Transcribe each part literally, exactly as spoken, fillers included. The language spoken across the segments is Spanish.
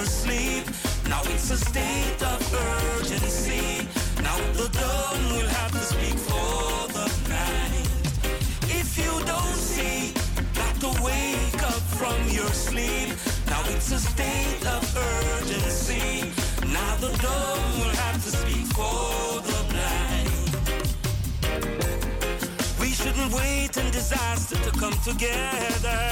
your sleep. Now it's a state of urgency. Now the dumb will have to speak for the blind. If you don't see, got to wake up from your sleep. Now it's a state of urgency. Now the dumb will have to speak for the blind. We shouldn't wait in disaster to come together.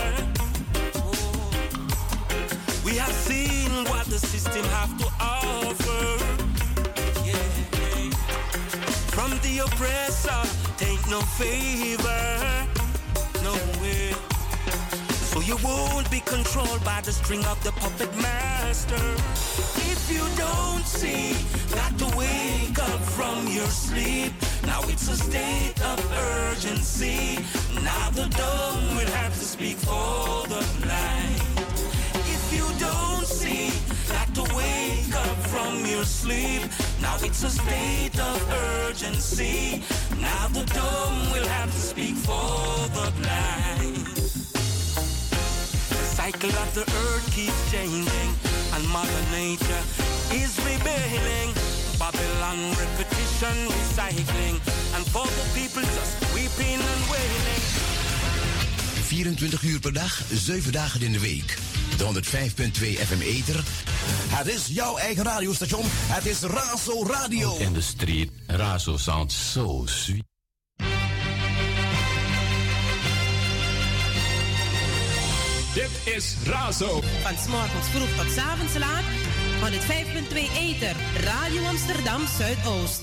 We have seen what the system have to offer. Yeah. From the oppressor, take no favor. No way. So you won't be controlled by the string of the puppet master. If you don't see, got to wake up from your sleep. Now it's a state of urgency. Now the dumb will have to speak for the blind. If you don't see, got to wake up from your sleep. Now it's a state of urgency. Now the dumb will have to speak for the blind. The cycle of the earth keeps changing, and Mother Nature is rebelling. Babylon repetition, recycling, and for the people just weeping and wailing. vierentwintig uur per dag, zeven dagen in de week. De honderdvijf punt twee F M Ether. Het is jouw eigen radiostation. Het is Razo Radio. In the street, Razo sounds so sweet. Dit is Razo. Van 's morgens vroeg tot 's avonds laat. honderdvijf punt twee Ether. Radio Amsterdam Zuidoost.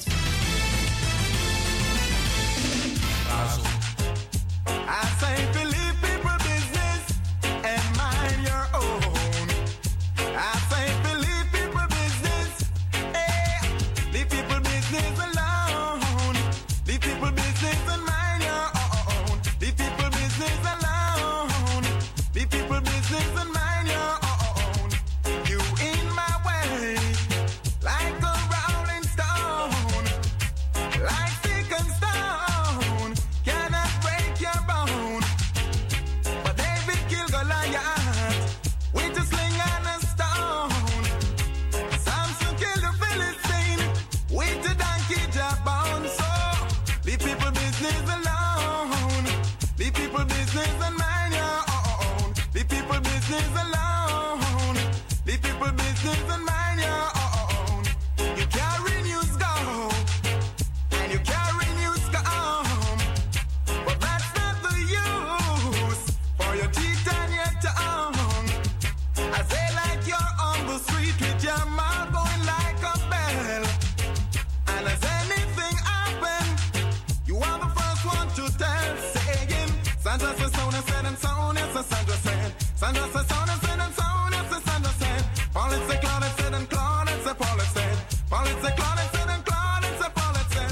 Razo. I say believe people business and mind your own. I say believe people business. Hey, leave people business alone. Leave people business and mind your own. Leave people business alone. Leave people business and mind your own. You in my way, like a rolling stone, like stick and stone, cannot break your bone. But David killed Goliath with a sling and a stone. Samson killed the Philistine with a donkey jawbone. So leave people business alone. Leave people business and mind your own. Leave people business alone. Leave people business and mind your own. You carry news go, and you carry news come, but that's not the use for your teeth and your tongue. I say like you're on the street with your mouth going like a bell, and as anything happen, you are the first one to tell. Saying Sandra says so and said and so yes, Sandra said. Sandra says so and said and so yes, Sandra said. Paul it said, Claude it said, and Claude it said, Paul it said. Paul it said, Claude it said, and Claude it said, Paul it said.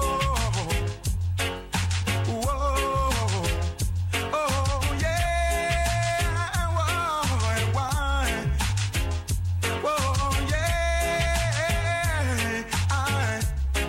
Whoa, whoa, oh yeah, whoa, and why? Whoa, yeah, I.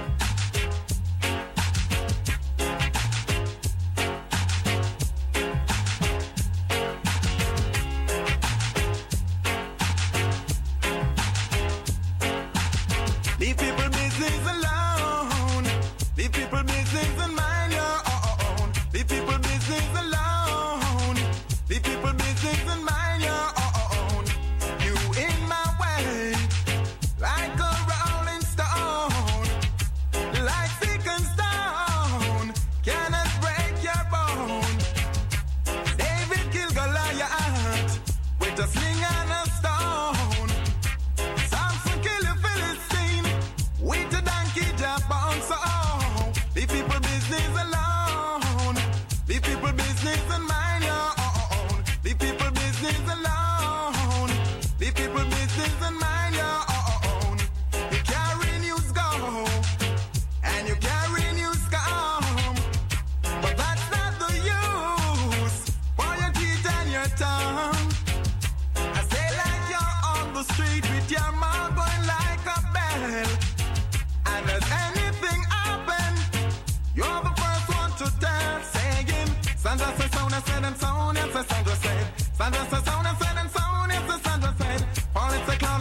Leave people business alone. Leave people business and mind your own. Leave people business alone. Leave people business and mind your own. You in my way, like a rolling stone, like stick and stone, cannot break your bone. David killed Goliath with a sling and a stone. Samson killed a Philistine with a donkey jawbone. So leave people business alone. Leave people business and mind your own. Leave people business alone. Leave people business and mind your own. You carry news go, and you carry news come, but that's not the use for your teeth and your tongue. I say like you're on the street with your mouth going like a bell, and as anything happen, you're the first one to tell. Saying Sandra said, sound and said, and sound, yes, Sandra said. Sandra said, sound and said, and sound, yes, Sandra said. Paul it said, Claude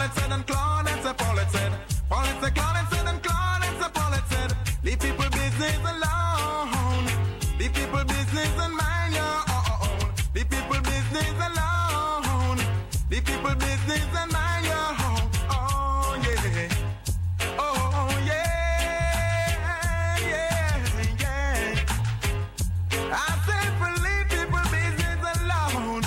Leave people business and mind your own. Oh yeah. Oh yeah. Yeah, yeah. I said for leave people business alone.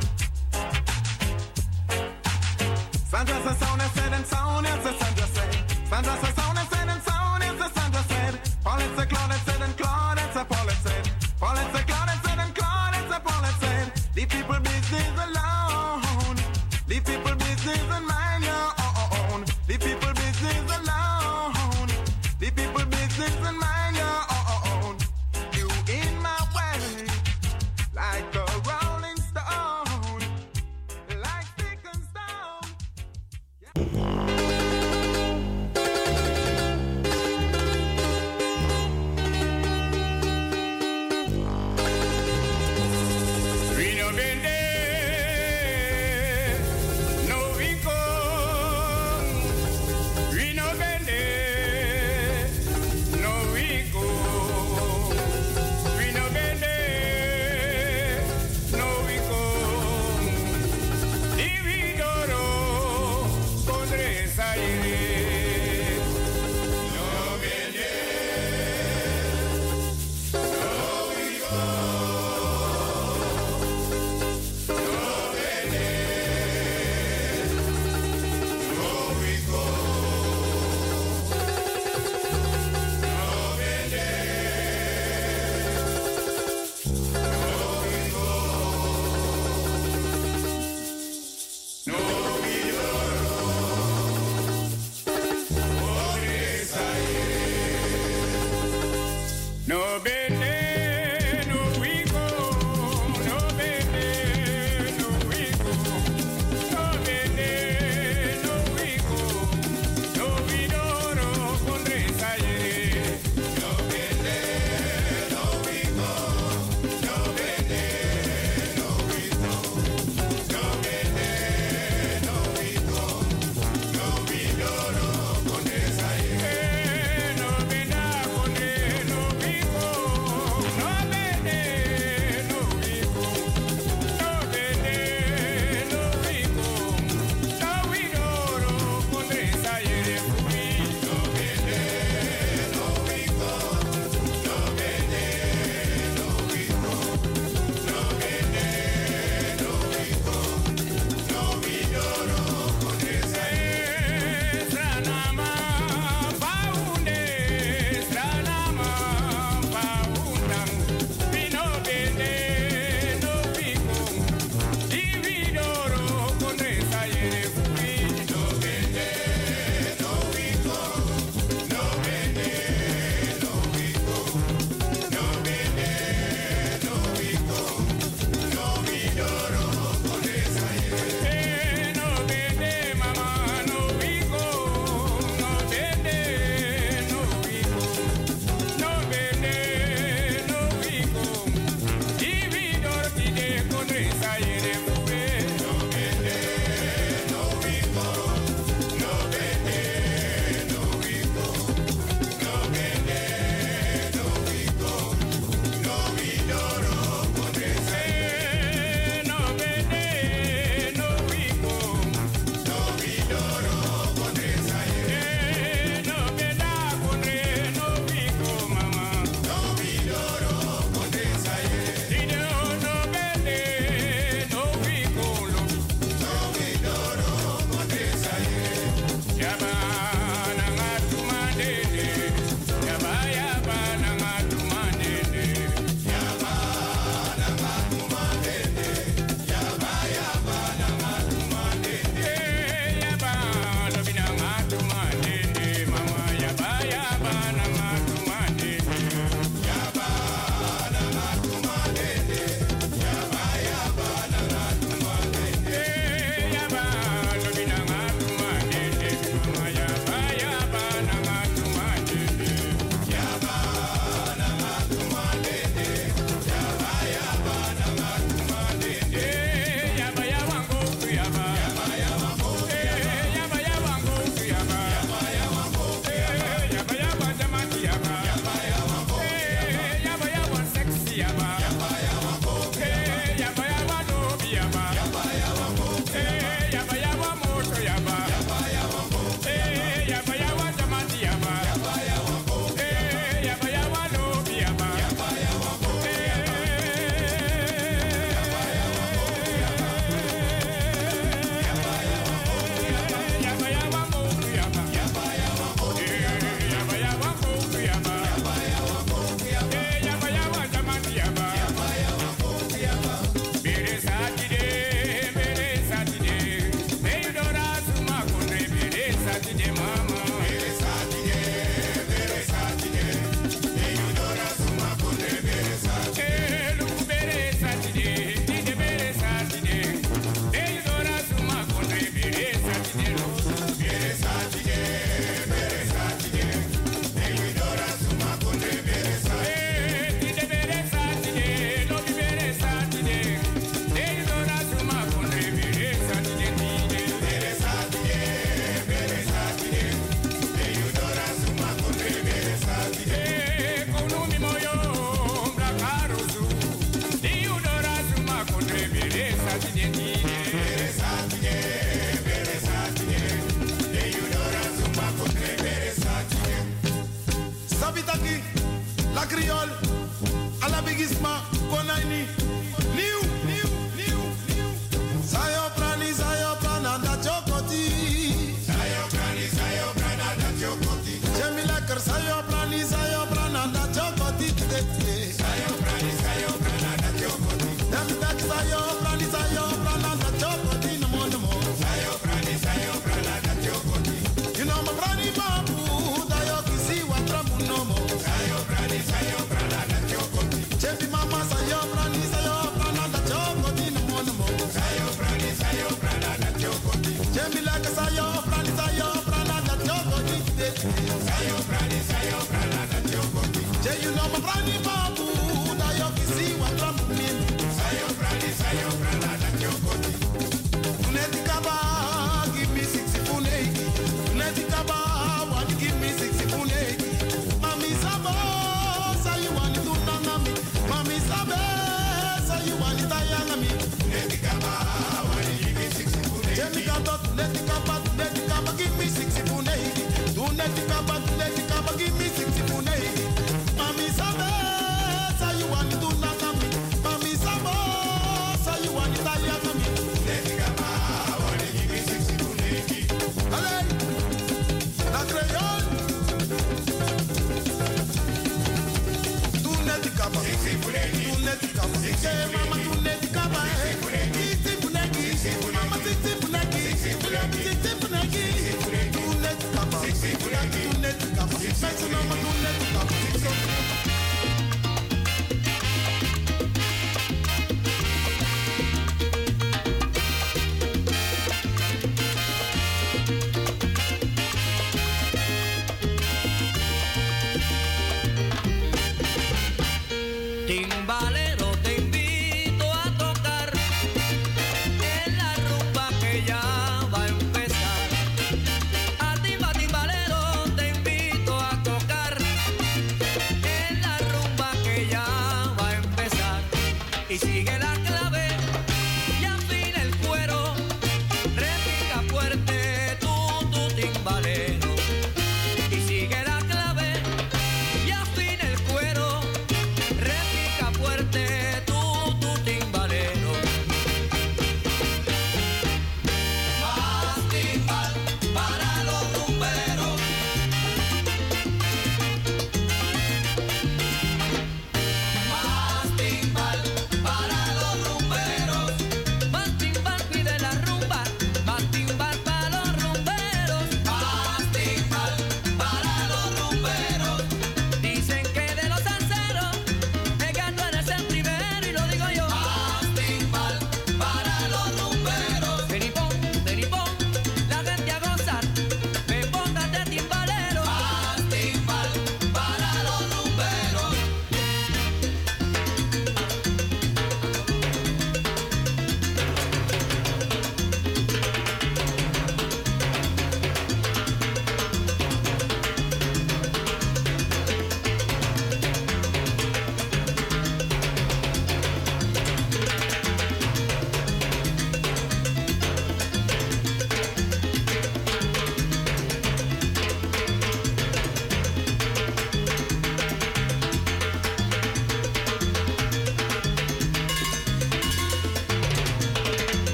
Sandra said sound and said and sound, yes, Sandra said. Sandra said sound and said and sound, yes, Sandra said. Paul and said Claude and said and Claude and said Paul and said. Paul and said Claude and said and Claude and said Paul and said. Leave people business alone. Leave people business and mind your own. Leave people business alone. Leave people business and mind your own. You in my way, like a rolling stone, like stick and stone. We no vende, no we come.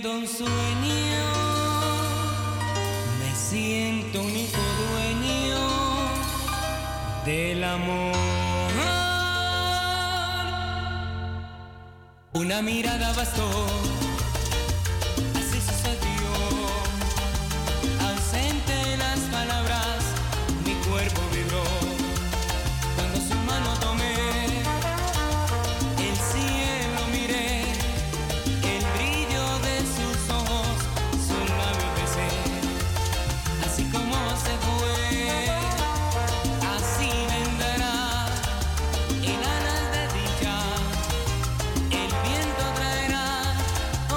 viviendo un sueño, me siento único dueño del amor. Una mirada bastó, así sucedió, ausente en las palabras, mi cuerpo vibró, cuando su mano tomé, el cielo miré, el brillo de sus ojos, su labio besé, así como se fue, así vendrá el alas de dicha, el viento traerá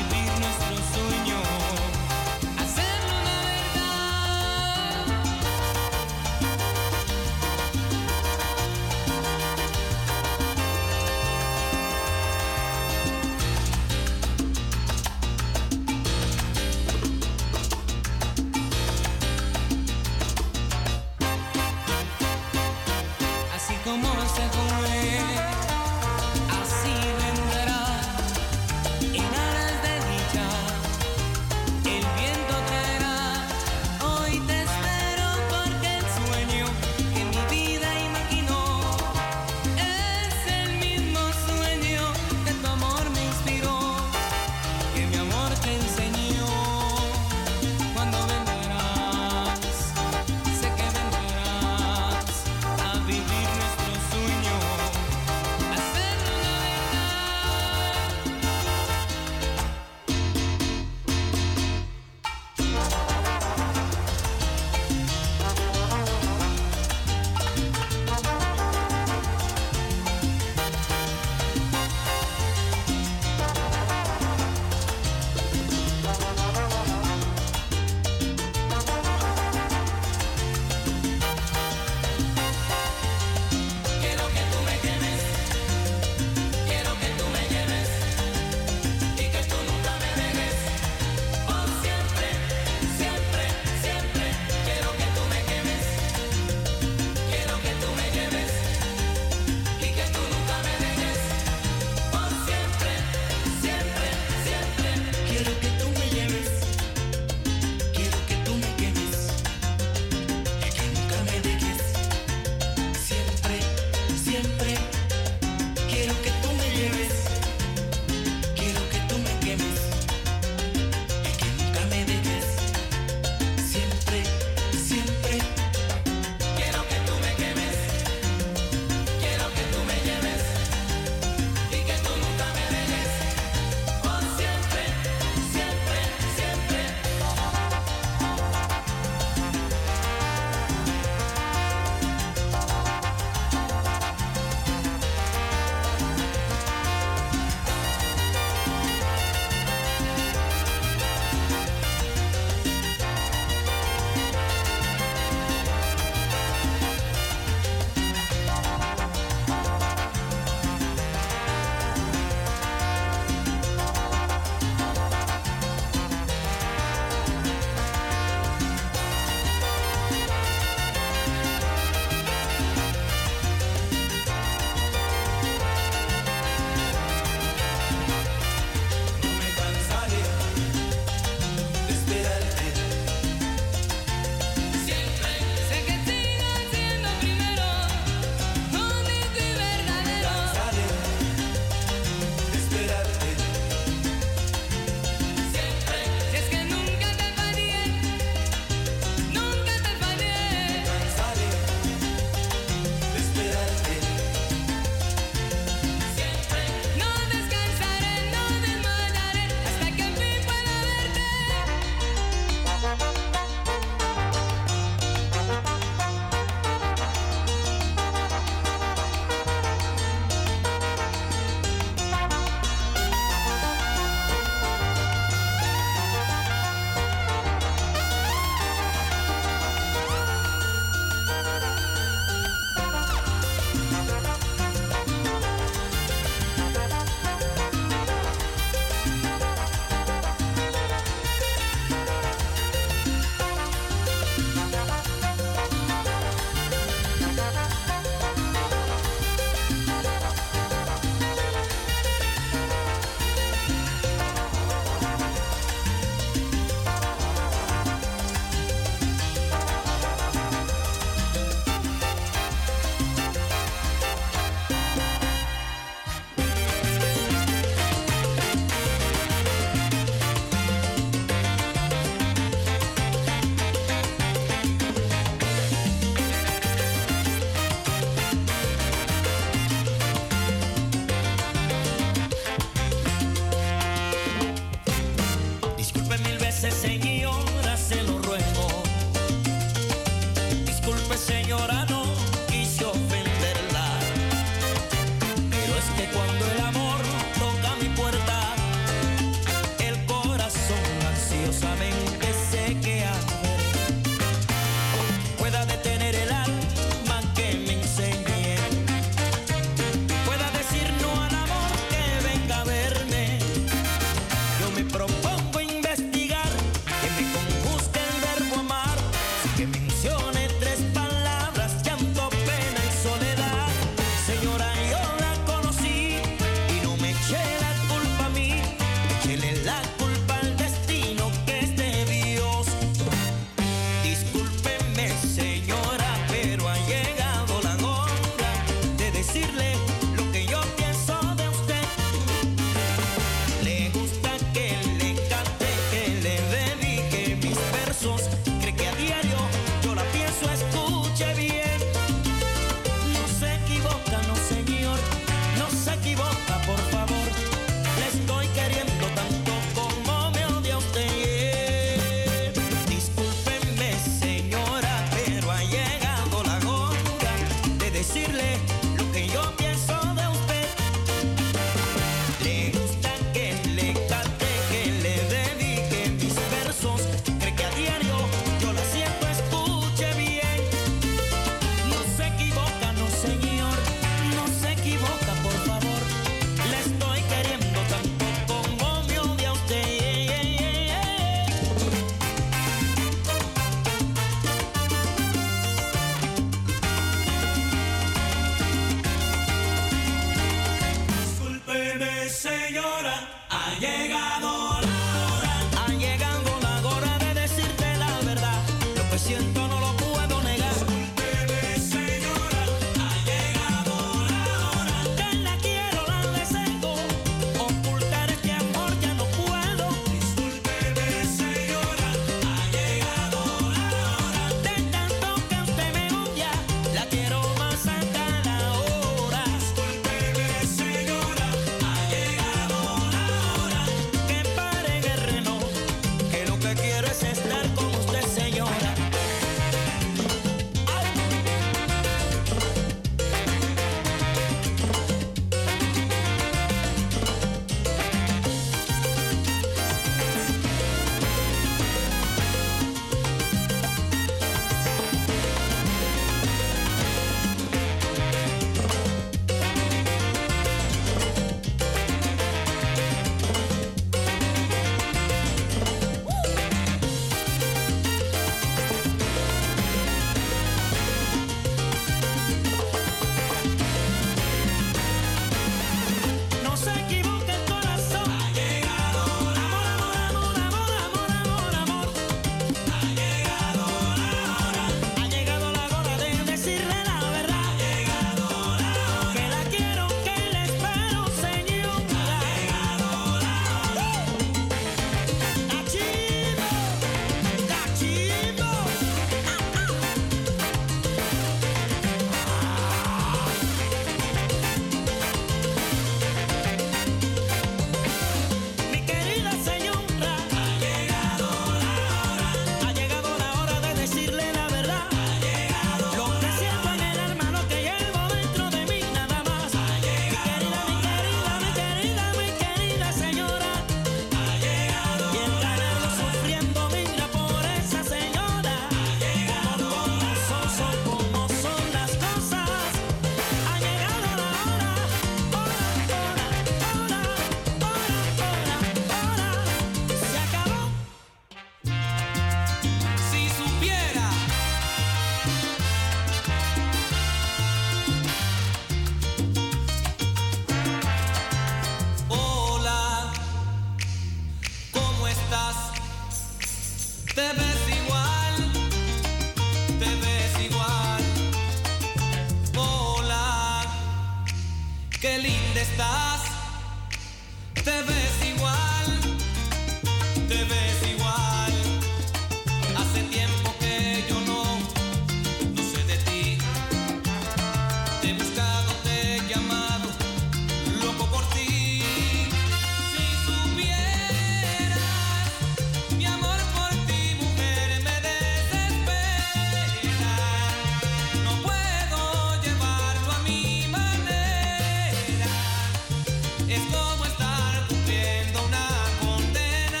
estás, te ves igual, te ves igual. Hace tiempo que yo no, no sé de ti. Te he buscado, te he llamado, loco por ti. Si supieras, mi amor por ti, mujer, me desespera. No puedo llevarlo a mi manera. Es como estar cumpliendo una condena.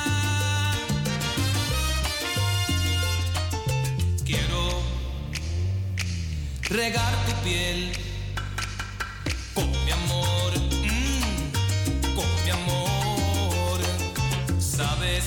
Quiero regar tu piel con mi amor, mm, con mi amor. Sabes,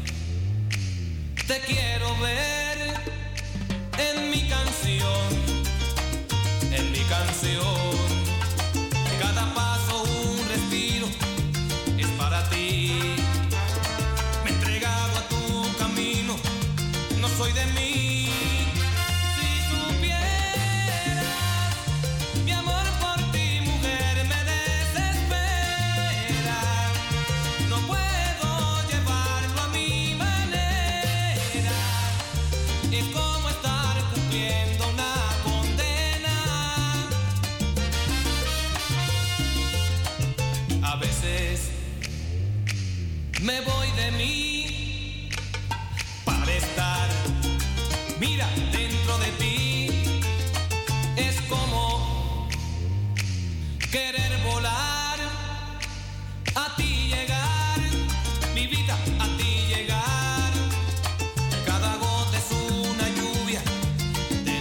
te quiero ver en mi canción, en mi canción. Cada paso un respiro es para ti. Me he entregado a tu camino, no soy de mí. Si supieras, mi amor por ti, mujer, me desespera. No puedo llevarlo a mi manera. Es como estar cumpliendo una condena. A veces me voy de mí para estar, mira, dentro de ti. Es como querer volar, a ti llegar, mi vida, a ti llegar. Cada gota es una lluvia de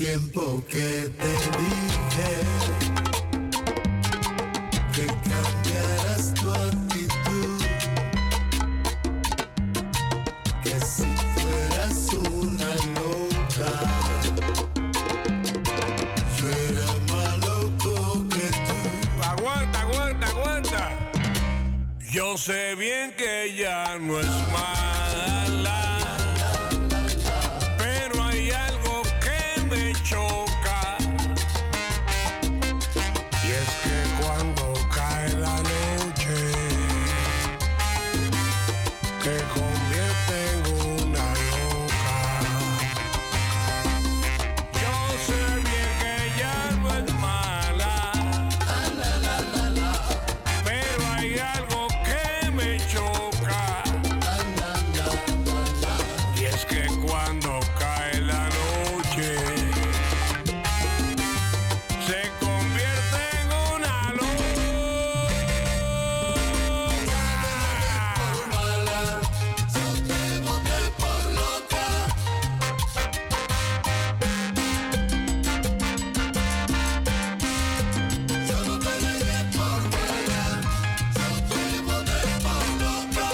tiempo que te dije que cambiaras tu actitud, que si fueras una loca, yo era más loco que tú. Aguanta, aguanta, aguanta. Yo sé bien que ella no es mala, pero hay algo que me choca, y es que cuando cae la noche te convierte en una loca. Yo sé bien que ella no es mala, pero hay algo que me choca, y es que cuando cae la noche se convierte en una loca. Yo te boté por loca. Yo no te dejé por buena. Yo te boté por loca.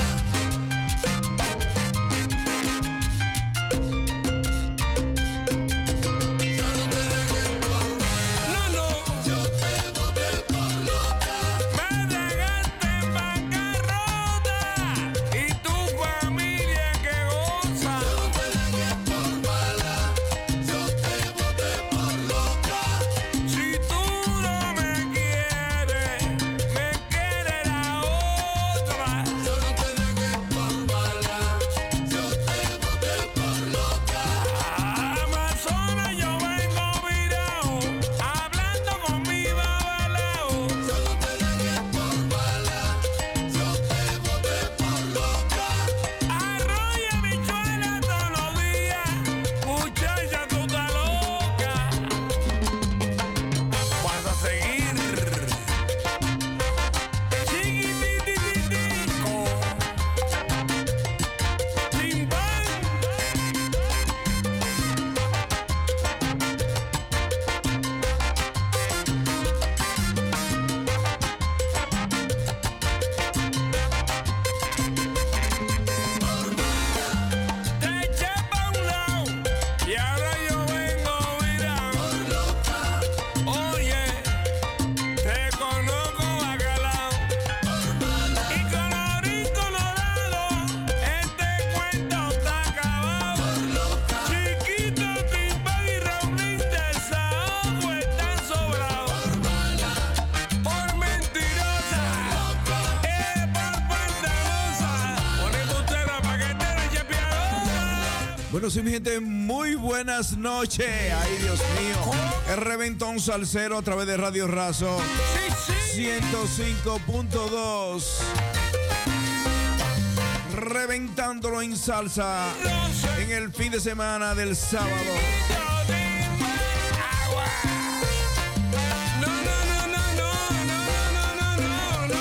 Yo no te dejé por buena. No, no, Yo te boté por loca. me dejaste en bancarrota y tu familia que goza. Yo no te dejé por mala. Yo te boté por loca. Si tú no me quieres, me quiere la otra. Yo no te dejé por mala. Yo te boté por loca. Amazonas, yo vengo virado, hablando con mi babalao. Yo no te dejé por mala. Yo te boté por loca. Arroyo y bichuela todos los días, muchacha, tú estás loca. Vas a seguir chiquitititico, chimbán. Te eché pa' un lado y ahora yo vengo virado. Oye, te conozco bacalao y colorín colorado, este cuento está acabado. Chiquito, Timbán y Raulín de Saoco están sobrados. Por mentirosa, eh, por pantalosa, por embustera, paquetera y chepiadora. Bueno, sí, mi gente, muy buenas noches. Ay, Dios mío. El Reventón Salsero a través de Radio Razo Sí, sí. ciento cinco punto dos. Reventándolo en salsa en el fin de semana del sábado. Agua. No, no, no, no, no, no, no, no, no,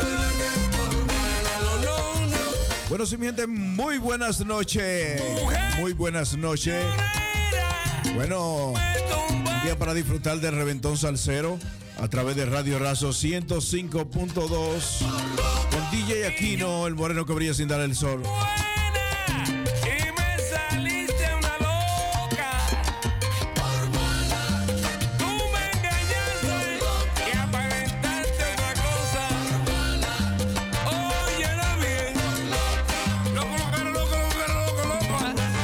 no, no, no. Bueno, sí, mi gente, muy buenas noches. Muy buenas noches. Bueno, un día para disfrutar del Reventón Salsero a través de Radio Razo ciento cinco punto dos. Con D J Aquino, el moreno que brilla sin dar el sol. Y me saliste una loca. Tú me engañaste y aparentaste una cosa. Óyelo bien. Loco, loco, loco, loco, loco, loco.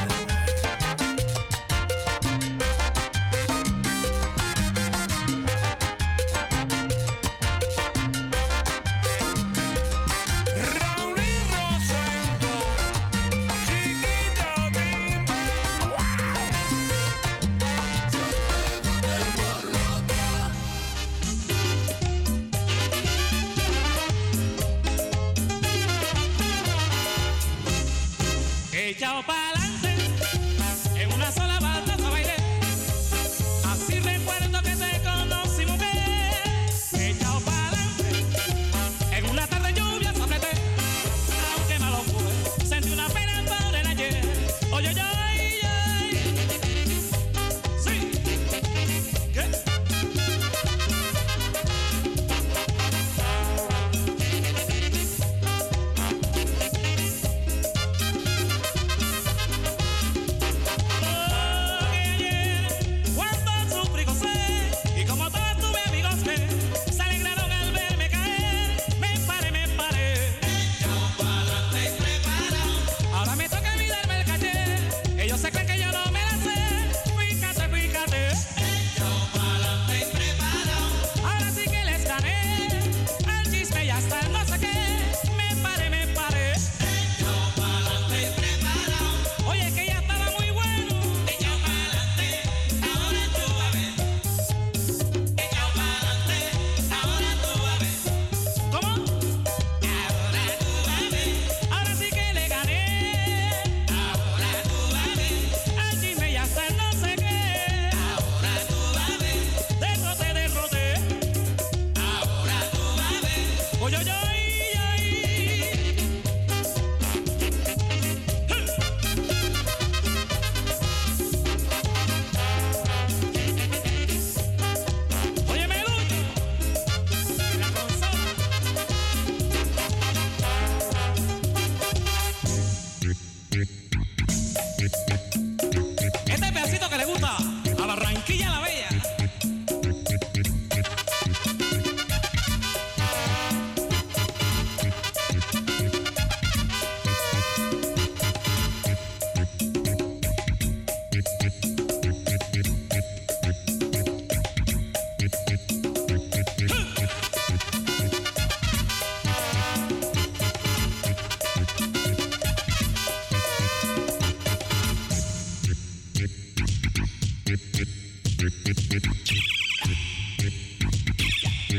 Raulín Rosendo, chiquito Timbán. Echao pa'lante, en una sola bataza bailé. Así recuerdo que te conocí, mujer. Echao pa'lante, en una tarde lluvia sopleté. Aunque malo fue, sentí una pena por el ayer. Oye, oye, oye. Sí.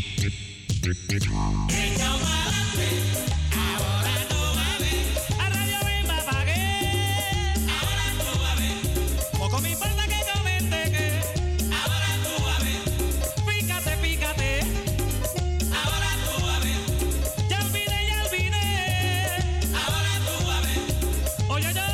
Echao pa'lante, ahora tú vas a ver. A Radio Bemba pagué, ahora tú vas a ver. Poco me importa que comente que, ahora tú vas a ver. Pícate, pícate, ahora tú vas a ver. Ya olvidé, ya olvidé, ahora tú vas a ver. Oye, oye, oye,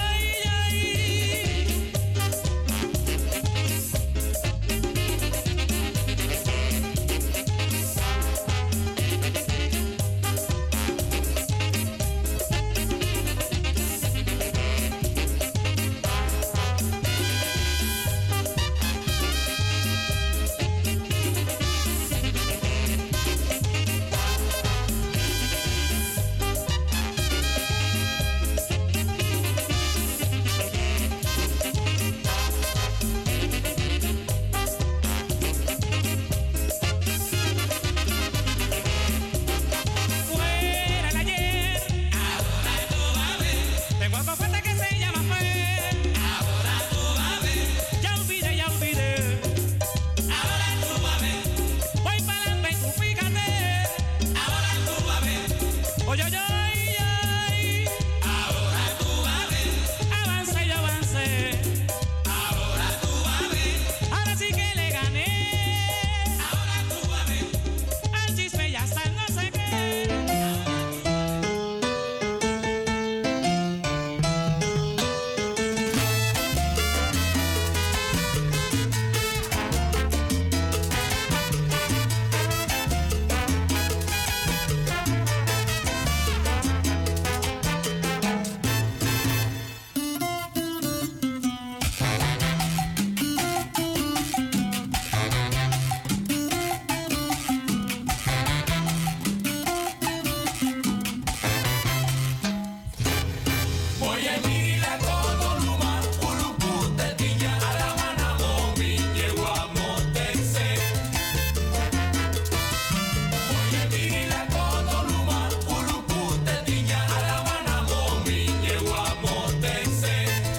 fuera el ayer, ahora tú vas a ver. Tengo algo fuerte que se llama fe, ahora tú vas a ver. Ya olvidé, ya olvidé, ahora tú vas a ver. Voy para adelante y tú fíjate, ahora tú vas a ver. Oye, oye, oye, ahora tú vas a ver. Avance, yo avancé, ahora tú vas a ver. Ahora sí que le gané, ahora tú vas a ver. Al chisme ya está el no sé qué. Oye, mira todo luma, ulupu te tiña a la mana momi, llego a motense. Oye, mira todo luma, ulupu te tiña a la mana momi, llego a motense.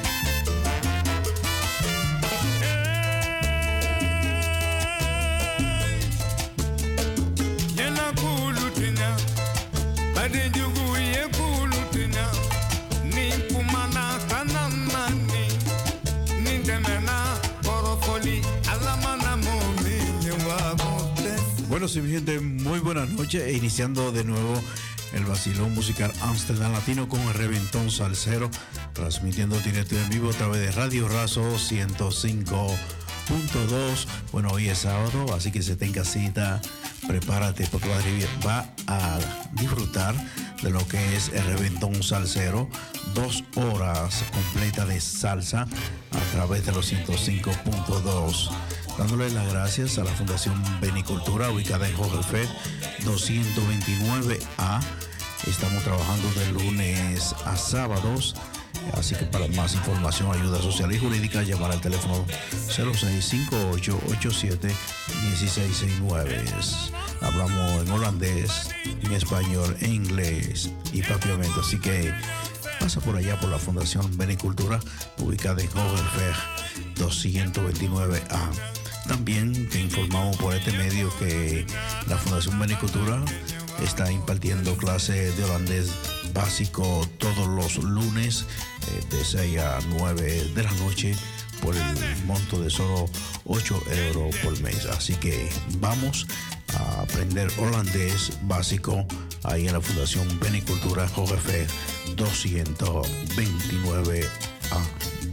Yena kulutina, ade jugu ye kulutina, ni kumana kanamani, ni demena porofoli, alamana momi, yewa motes. Bueno, sí, mi gente, muy buenas noches. E iniciando de nuevo el vacilón musical Amsterdam Latino con el Reventón Salsero, transmitiendo directo y en vivo a través de Radio Razo ciento cinco punto dos. Bueno, hoy es sábado, así que se tenga cita, prepárate porque va a, divi- va a disfrutar de lo que es el Reventón Salsero. Dos horas completas de salsa a través de los ciento cinco punto dos. Dándole las gracias a la Fundación Benicultura, ubicada en Jorge Fed doscientos veintinueve A. Estamos trabajando de lunes a sábados. Así que para más información, ayuda social y jurídica, llamar al teléfono cero seis cinco ocho ocho siete uno seis seis nueve. Hablamos en holandés, en español, en inglés y propiamente. Así que pasa por allá por la Fundación Benicultura, ubicada en Hogerberg doscientos veintinueve A. También te informamos por este medio que la Fundación Benicultura está impartiendo clases de holandés básico todos los lunes eh, de seis a nueve de la noche por el monto de solo ocho euros por mes. Así que vamos a aprender holandés básico ahí en la Fundación Benicultura Jorge doscientos veintinueve A.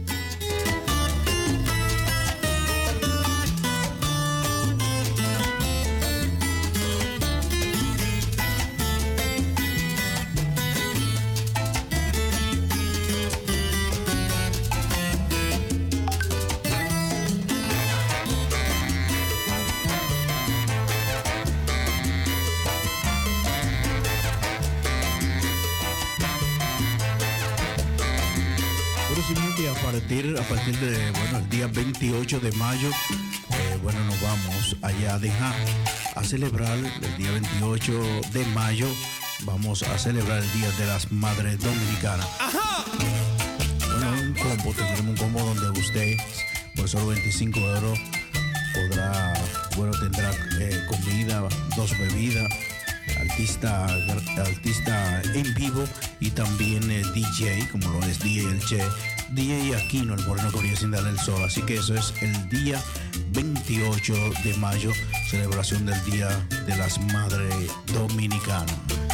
A partir, a partir de, bueno, el día veintiocho de mayo, eh, bueno, nos vamos allá a dejar a celebrar el día veintiocho de mayo, vamos a celebrar el Día de las Madres Dominicanas. Ajá. Bueno, un combo, tendremos un combo donde usted, por solo veinticinco euros, podrá, bueno, tendrá eh, comida comida, dos bebidas, artista, artista en vivo y también eh, D J, como lo es D J El Che, D J Aquino, el moreno que brilla sin darle el sol. Así que eso es el día veintiocho de mayo, celebración del Día de las Madres Dominicanas.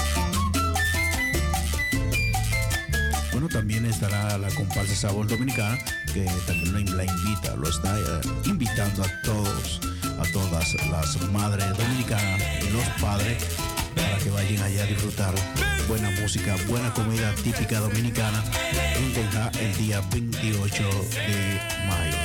Bueno, también estará la comparsa Sabor Dominicana, que también la invita, lo está eh, invitando a todos, a todas las madres dominicanas y los padres para que vayan allá a disfrutar buena música, buena comida típica dominicana en Tenja el día veintiocho de mayo.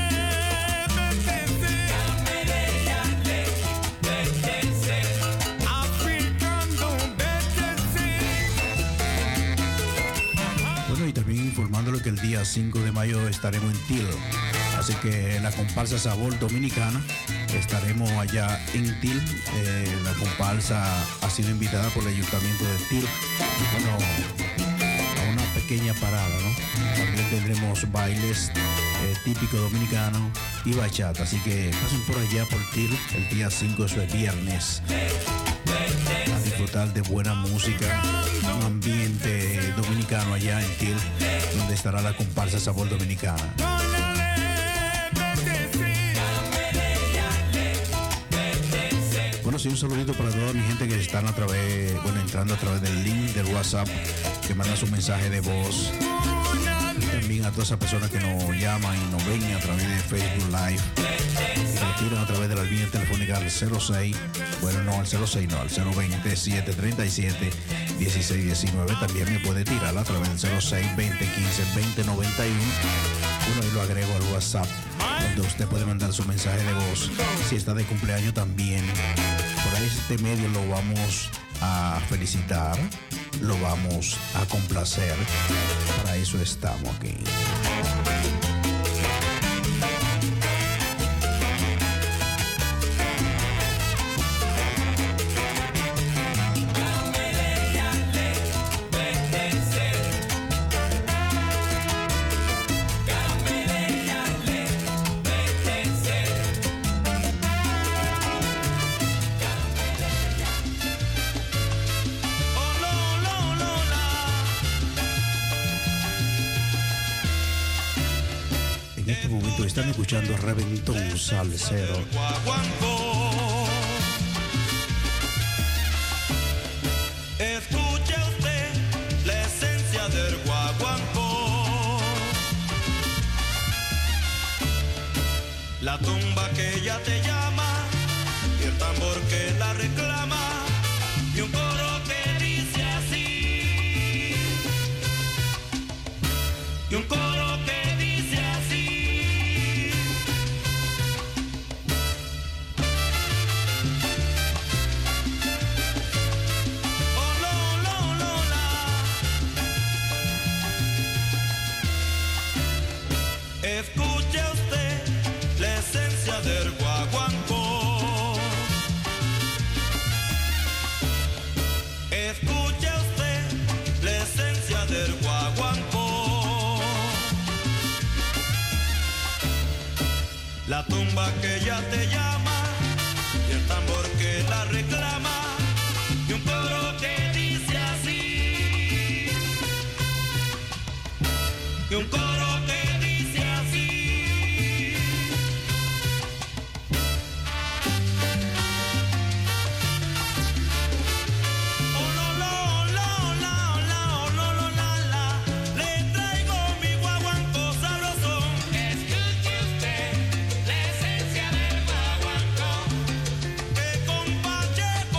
Bueno, y también informándole que el día cinco de mayo estaremos en Til. Así que la comparsa Sabor Dominicana estaremos allá en Til. Eh, la comparsa ha sido invitada por el Ayuntamiento de Til. Bueno, a una pequeña parada, ¿no? También tendremos bailes eh, típicos dominicanos y bachata. Así que pasen por allá por Til el día cinco, eso es viernes. A disfrutar de buena música, un ambiente dominicano allá en Til, donde estará la comparsa Sabor Dominicana. Bueno, sí, un saludito para toda mi gente que están a través, bueno, entrando a través del link del WhatsApp, que mandan su mensaje de voz. Y también a todas esas personas que nos llaman y nos ven a través de Facebook Live. Y nos tiran a través de la línea telefónica al cero seis, bueno, no al cero seis, no, al cero veinte, siete treinta y siete, dieciséis diecinueve. También me puede tirar a través del cero seis, veinte quince, veinte noventa y uno. Bueno, y lo agrego al WhatsApp, donde usted puede mandar su mensaje de voz. Si está de cumpleaños también, por ahí este medio lo vamos a felicitar, lo vamos a complacer. Para eso estamos aquí. Están escuchando Reventón Salsero. Escuche usted la esencia del guaguancó, la tumba que ella te llama y el tambor que la reclama y un coro que dice así, y un coro que dice así. Escuche usted la esencia del guaguancó. Escuche usted la esencia del guaguancó. La tumba que ella te llama y el tambor que la reclama y un coro que dice así. Y un coro que Che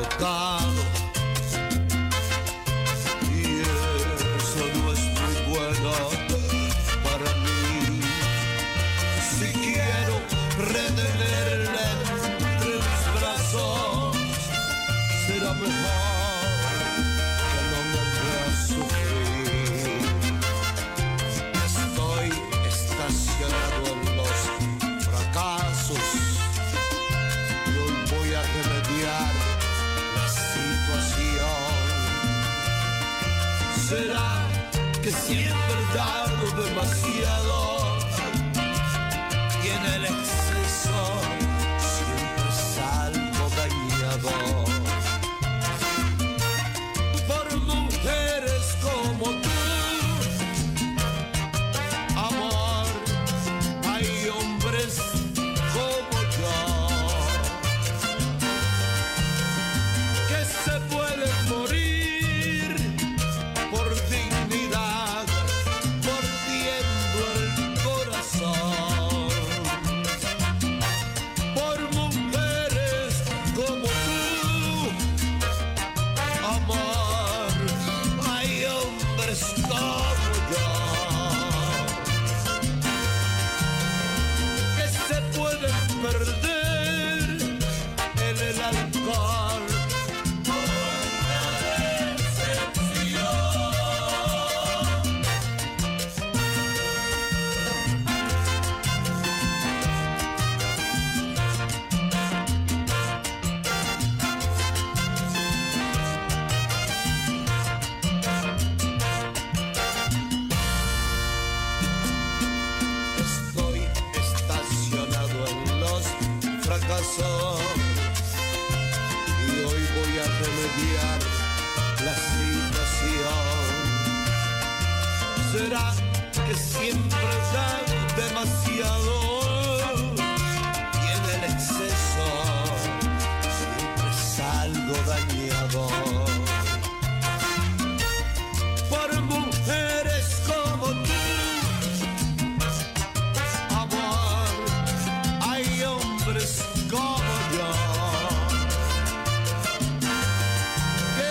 agotado y eso no es muy bueno para mí. Si quiero retenerle entre mis brazos, será mejor que no me vea sufrir. Estoy estacionado en los fracasos y hoy voy a remediar la situación. ¿Será que siempre he dado demasiado y en el exceso siempre salgo dañado? Por mujeres como tú, amor, hay hombres como yo que se pueden morir por dignidad, mordiendo el corazón. Por mujeres como tú, amor, hay hombres como yo que se pueden perder en el alcohol por una decepción. Estoy estacionado en los fracasos y hoy voy a remediar la situación. ¿Será que siempre he dado demasiado y en el exceso siempre salgo dañado? Por mujeres como tú, amor, hay hombres como yo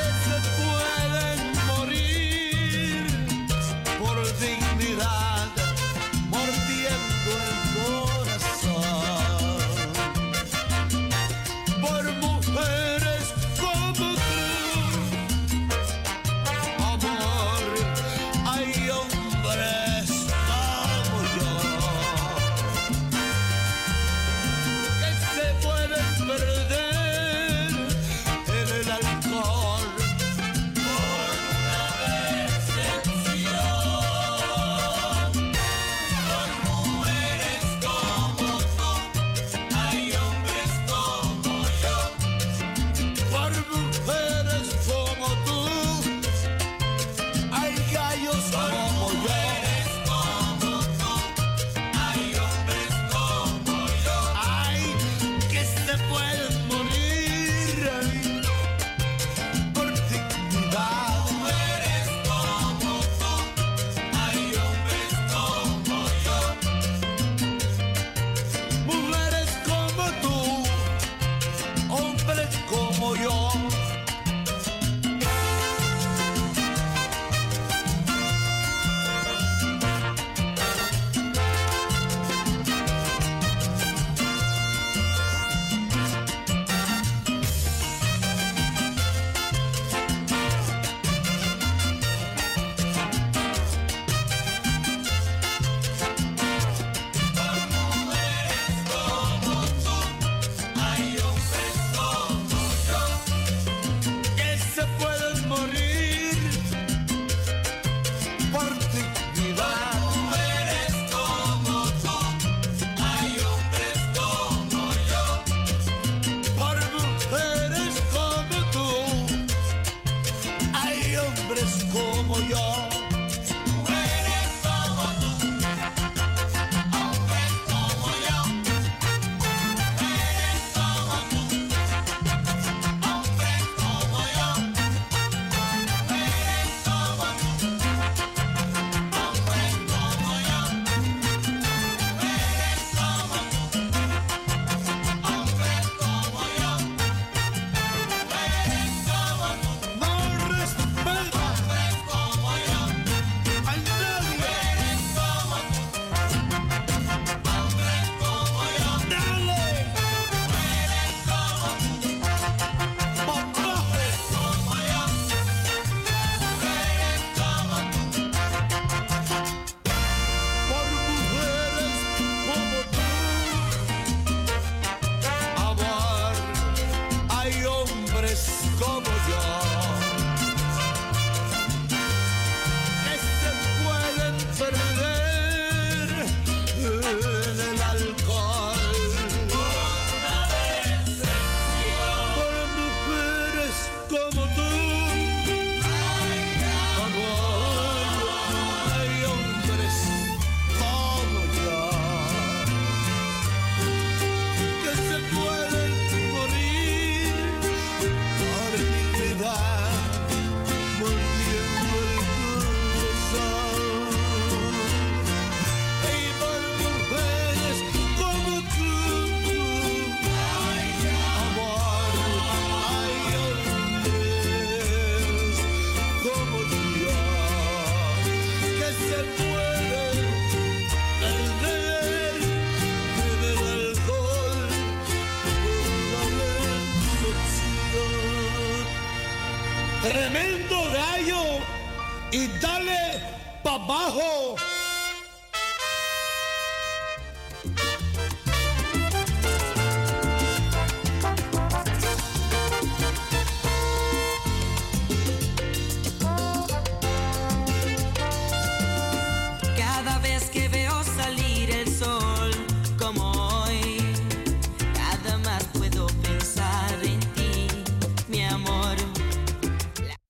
tremendo gallo y dale pa' abajo.